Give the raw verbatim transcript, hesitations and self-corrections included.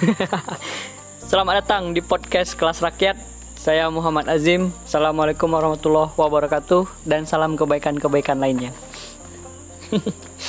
Selamat datang di podcast Kelas Rakyat. Saya Muhammad Azim. Assalamualaikum warahmatullahi wabarakatuh. Dan salam kebaikan-kebaikan lainnya.